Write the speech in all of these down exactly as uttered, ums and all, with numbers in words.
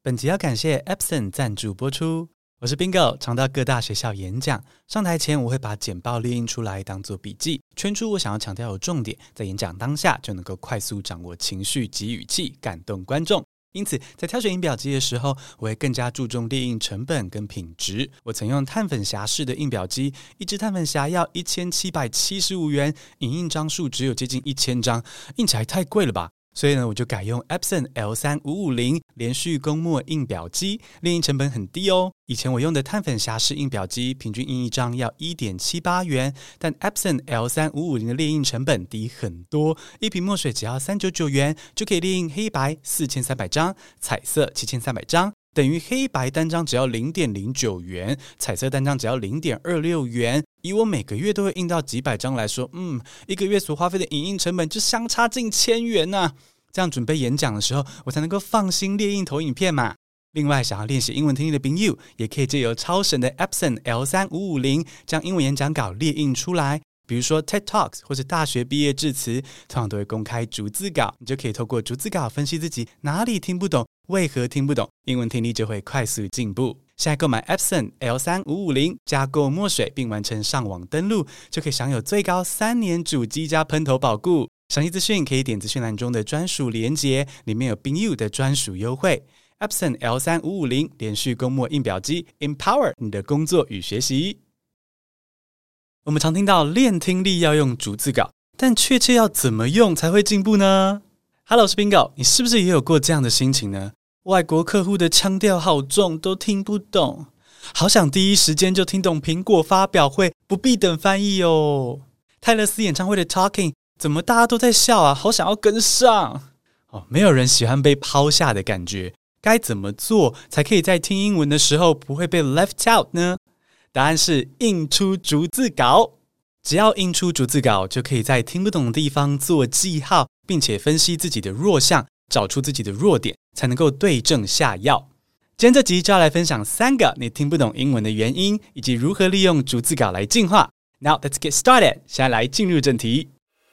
本集要感謝 Epson 贊助播出。我是 Bingo， 常到各大學校演講，上台前我會把簡報列印出來當做筆記，圈出我想要強調的重點，在演講當下就能夠快速掌握情緒及語氣，感動觀眾。因此在挑選印表機的時候，我會更加注重列印成本跟品質。我曾用碳粉匣式的印表機，一支碳粉匣要一千七百七十五元，影印張數只有接近一千張，印起來太貴了吧。所以呢，我就改用 Epson L 三五五零 連續供墨印表機，列印成本很低哦。以前我用的碳粉匣式印表機，平均印一張要 一點七八元，但 Epson L 三五五零的列印成本低很多，一瓶墨水只要三百九十九元，就可以列印黑白四千三百張，彩色七千三百張。等於黑白單張只要 零點零九元，彩色單張只要 零點二六元。以我每個月都會印到幾百張來說，嗯，一個月所花費的影印成本就相差近千元吶、啊。這樣準備演講的時候，我才能夠放心列印投影片嘛。另外，想要練習英文聽力的朋友，也可以借由超神的 Epson L 三五五零將英文演講稿列印出來。比如說 TED Talks 或是大學畢業致辭，通常都會公開逐字稿，你就可以透過逐字稿分析自己哪裡聽不懂，為何聽不懂，英文聽力就會快速進步。現在購買 Epson L 三五五零加購墨水，並完成上網登錄，就可以享有最高三年主機加噴頭保固。詳細資訊可以點資訊欄中的專屬連結，裡面有 Bingo 的專屬優惠。Epson L 三五五零連續供墨印表機 ，Empower 你的工作與學習。我們常聽到練聽力要用逐字稿，但確切要怎麼用才會進步呢？ Hello， 我是 Bingo， 你是不是也有過這樣的心情呢？外國客戶的腔調好重，都聽不懂，好想第一時間就聽懂蘋果發表會，不必等翻譯哦。泰勒斯演唱會的 Talking， 怎麼大家都在笑啊？好想要跟上哦！沒有人喜歡被拋下的感覺，該怎麼做才可以在聽英文的時候不會被 left out 呢？答案是印出逐字稿。只要印出逐字稿，就可以在聽不懂的地方做記號，並且分析自己的弱項，找出自己的弱點，才能夠對症下藥。今天這集就要來分享三個你聽不懂英文的原因，以及如何利用逐字稿來進化。Now let's get started。現在來進入正題。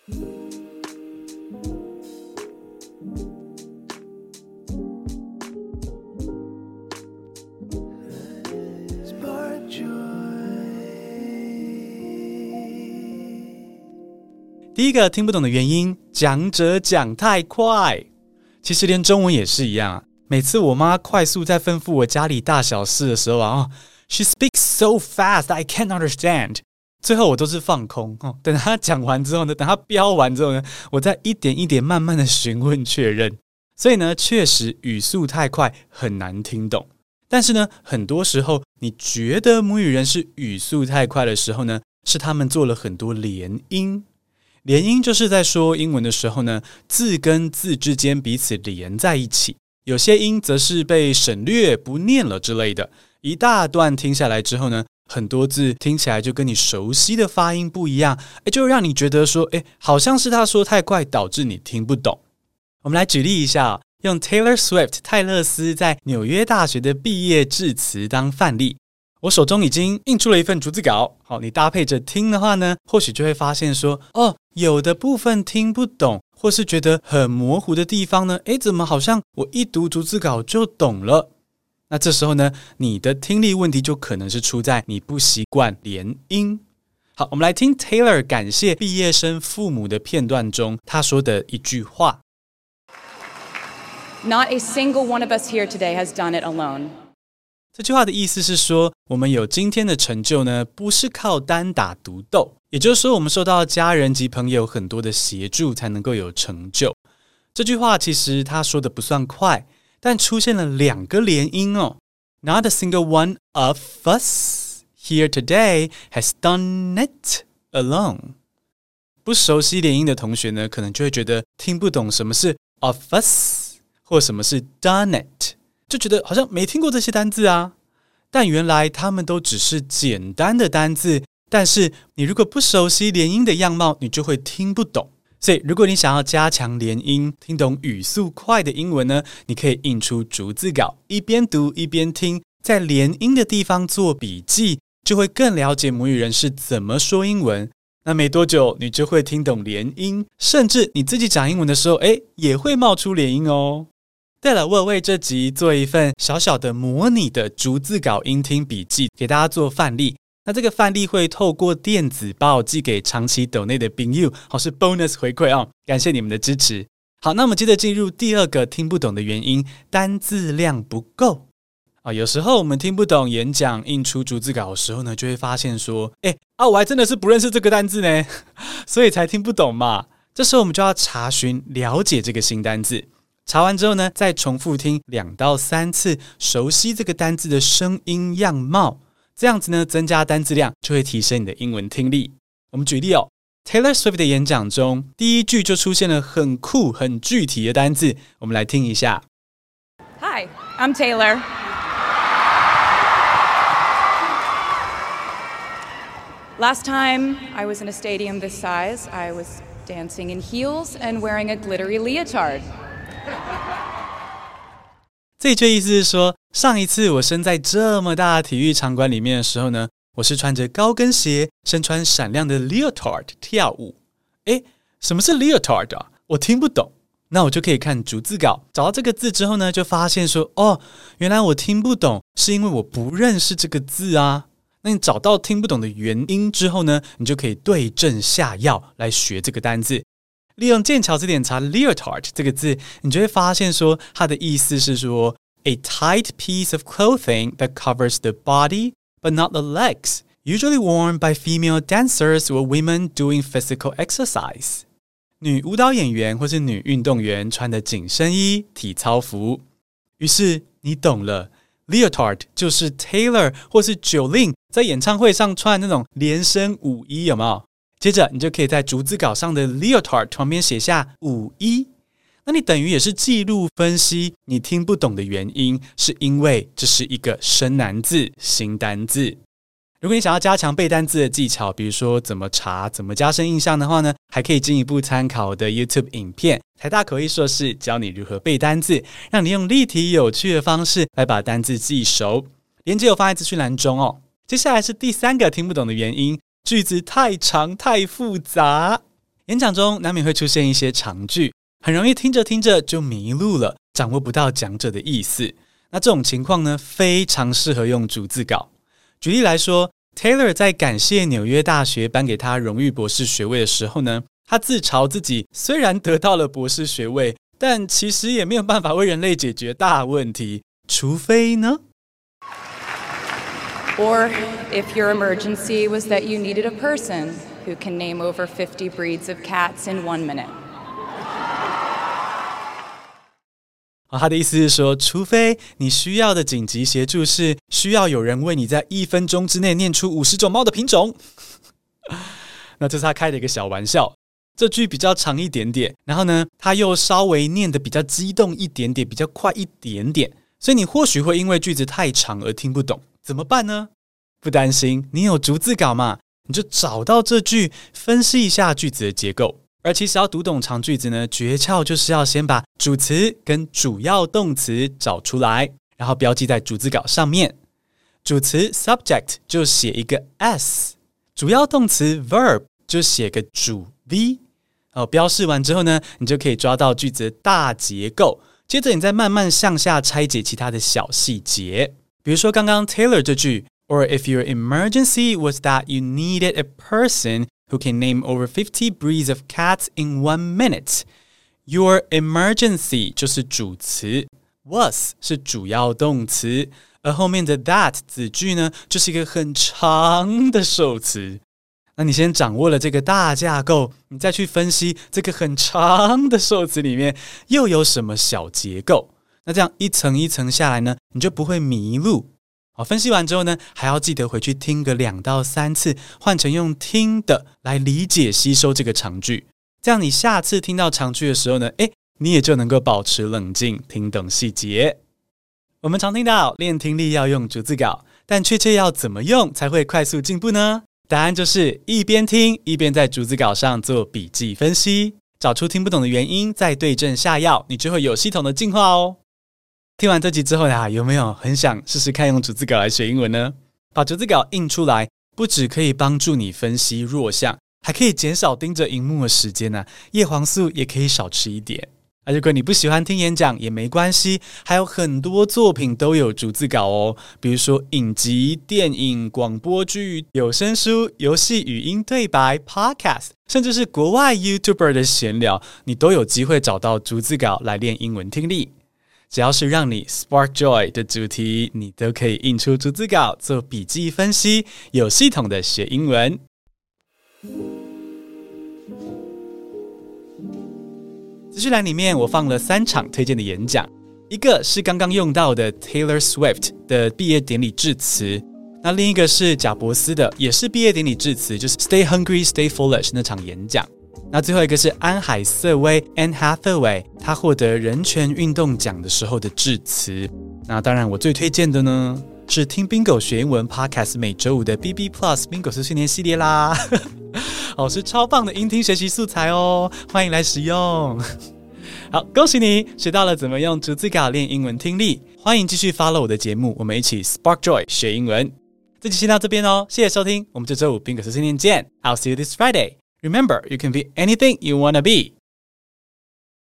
第一個聽不懂的原因，講者講太快。其實連中文也是一樣啊。每次我媽快速在吩咐我家裡大小事的時候啊，哦 ，She speaks so fast I can't understand。最後我都是放空哦，等她講完之後呢，等她飆完之後呢，我再一點一點慢慢的詢問確認。所以呢，確實語速太快很難聽懂。但是呢，很多時候你覺得母語人是語速太快的時候呢，是他們做了很多連音。連音就是在說英文的時候呢，字跟字之間彼此連在一起，有些音則是被省略不念了之類的。一大段聽下來之後呢，很多字聽起來就跟你熟悉的發音不一樣，誒，就讓你覺得說，誒，好像是他說太快導致你聽不懂。我們來舉例一下，用 Taylor Swift 泰勒斯在紐約大學的畢業致辭當範例。我手中已經印出了一份逐字稿，好，你搭配着聽的話呢，或許就會發現說，哦，有的部分聽不懂，或是覺得很模糊的地方呢，誒，怎麼好像我一讀逐字稿就懂了？那這時候呢，你的聽力問題就可能是出在你不習慣連音。好，我們來聽 Taylor 感謝畢業生父母的片段中，他說的一句話。 Not a single one of us here today has done it alone. 這句話的意思是說，我們有今天的成就呢，不是靠單打獨鬥，也就是說，我們受到家人及朋友很多的協助，才能夠有成就。這句話其實他說的不算快，但出現了兩個連音哦。Not a single one of us here today has done it alone。不熟悉連音的同學呢，可能就會覺得聽不懂什麼是 of us 或什麼是 done it。就覺得好像沒聽過這些單字啊，但原來他們都只是簡單的單字，但是你如果不熟悉連音的樣貌，你就會聽不懂。所以如果你想要加強連音，聽懂語速快的英文呢，你可以印出逐字稿，一邊讀一邊聽，在連音的地方做筆記，就會更了解母語人是怎麼說英文。那沒多久你就會聽懂連音，甚至你自己講英文的時候，誒，也會冒出連音哦。 對了，我有為這集做一份小小的模擬的逐字稿音聽筆記，給大家做範例。那這個範例會透過電子報寄給長期抖內的朋友，好，是 bonus 回饋哦，感謝你們的支持。好，那我們接着進入第二個聽不懂的原因，單字量不夠啊。有時候我們聽不懂演講印出逐字稿的時候呢，就會發現說，哎啊，我還真的是不認識這個單字呢，所以才聽不懂嘛。這時候我們就要查詢了解這個新單字。查完之後呢，再重複聽兩到三次，熟悉這個單字的聲音樣貌，這樣子呢，增加單字量就會提升你的英文聽力。我們舉例哦 ，Taylor Swift 的演講中，第一句就出現了很酷、很具體的單字，我們來聽一下。 Hi, I'm Taylor. Last time I was in a stadium this size, I was dancing in heels and wearing a glittery leotard. 這一句意思是說，上一次我身在這麼大的體育場館裡面的時候呢，我是穿着高跟鞋，身穿閃亮的 leotard 跳舞。誒，什麼是 leotard 啊？我聽不懂。那我就可以看逐字稿，找到這個字之後呢，就發現說，哦，原來我聽不懂，是因為我不認識這個字啊。那你找到聽不懂的原因之後呢，你就可以對症下藥來學這個單字。利用劍橋字典查 leotard 這個字，你就會發現說它的意思是說 a tight piece of clothing that covers the body but not the legs, usually worn by female dancers or women doing physical exercise. 女舞蹈演員或是女運動員穿的緊身衣、體操服。於是你懂了， leotard 就是 Taylor 或是 Jolene 在演唱會上穿的那種連身舞衣，有沒有？接着你就可以在逐字稿上的 leotard 旁邊寫下舞衣，那你等於也是記錄分析你聽不懂的原因，是因為這是一個生難字、新單字。如果你想要加強背單字的技巧，比如說怎麼查、怎麼加深印象的話呢，還可以進一步參考我的 YouTube 影片，台大口譯碩士教你如何背單字，讓你用立體有趣的方式來把單字記熟。連結我放在資訊欄中哦。接下來是第三個聽不懂的原因，句子太長太複雜。演講中難免會出現一些長句，很容易聽着聽着就迷路了，掌握不到講者的意思。那這種情況呢，非常適合用逐字稿。舉例來說， Taylor 在感謝紐約大學頒給他榮譽博士學位的時候呢，他自嘲自己雖然得到了博士學位，但其實也沒有辦法為人類解決大問題，除非呢 Or if your emergency was that you needed a person who can name over fifty breeds of cats in one minute. 他的意思是說，除非你需要的緊急協助是需要有人為你在一分鐘之內念出五十種貓的品種。那這是他開的一個小玩笑。這句比較長一點點，然後呢，他又稍微念得比較激動一點點，比較快一點點，所以你或許會因為句子太長而聽不懂。怎麼辦呢？不擔心，你有逐字稿嘛，你就找到這句，分析一下句子的結構。而其實要讀懂長句子呢，訣竅就是要先把主詞跟主要動詞找出來，然後標記在逐字稿上面。主詞 subject 就寫一個 s， 主要動詞 verb 就寫個主 v。哦，標示完之後呢，你就可以抓到句子的大結構，接着你再慢慢向下拆解其他的小細節。比如說剛剛 Taylor 這句 Or if your emergency was that you needed a person who can name over fifty breeds of cats in one minute. Your emergency 就是主詞， was 是主要動詞，而後面的 that 子句呢，就是一個很長的受詞。那你先掌握了這個大架構，你再去分析這個很長的受詞裡面又有什麼小結構。那這樣一層一層下來呢，你就不會迷路。好，分析完之後呢，還要記得回去聽個兩到三次，換成用聽的來理解吸收這個長句。這樣你下次聽到長句的時候呢，誒，你也就能夠保持冷靜，聽懂細節。我們常聽到練聽力要用逐字稿，但確切要怎麼用才會快速進步呢？答案就是一邊聽一邊在逐字稿上做筆記分析，找出聽不懂的原因，再對症下藥，你就會有系統的進化哦。聽完這集之後呀，有沒有很想試試看用逐字稿來學英文呢？把逐字稿印出來，不只可以幫助你分析弱項，還可以減少盯着熒幕的時間呢、啊，葉黃素也可以少吃一點。 啊，如果你不喜歡聽演講也沒關係，還有很多作品都有逐字稿哦，比如說影集、電影、廣播劇、有聲書、遊戲語音對白、Podcast， 甚至是國外 YouTuber 的閒聊，你都有機會找到逐字稿來練英文聽力。只要是讓你 Spark Joy 的主題，你都可以印出逐字稿做筆記分析，有系統的學英文。資訊欄裡面我放了三場推薦的演講，一個是剛剛用到的 Taylor Swift 的畢業典禮致辭，那另一個是賈伯斯的，也是畢業典禮致辭，就是 Stay Hungry, Stay Foolish 那場演講。那最後一個是安海瑟薇 Anne Hathaway， 她獲得人權運動獎的時候的致辭。那當然我最推薦的呢是聽 Bingo 學英文 Podcast 每週五的 B B Plus Bingo 碎碎念系列啦。哦，是超棒的音聽學習素材哦，歡迎來使用。好，恭喜你學到了怎麼用逐字稿練英文聽力，歡迎繼續 follow 我的節目，我們一起 Spark Joy 學英文。這集先到這邊哦，謝謝收聽，我們這週五 Bingo 碎碎念見。I'll see you this Friday. Remember, you can be anything you wanna be.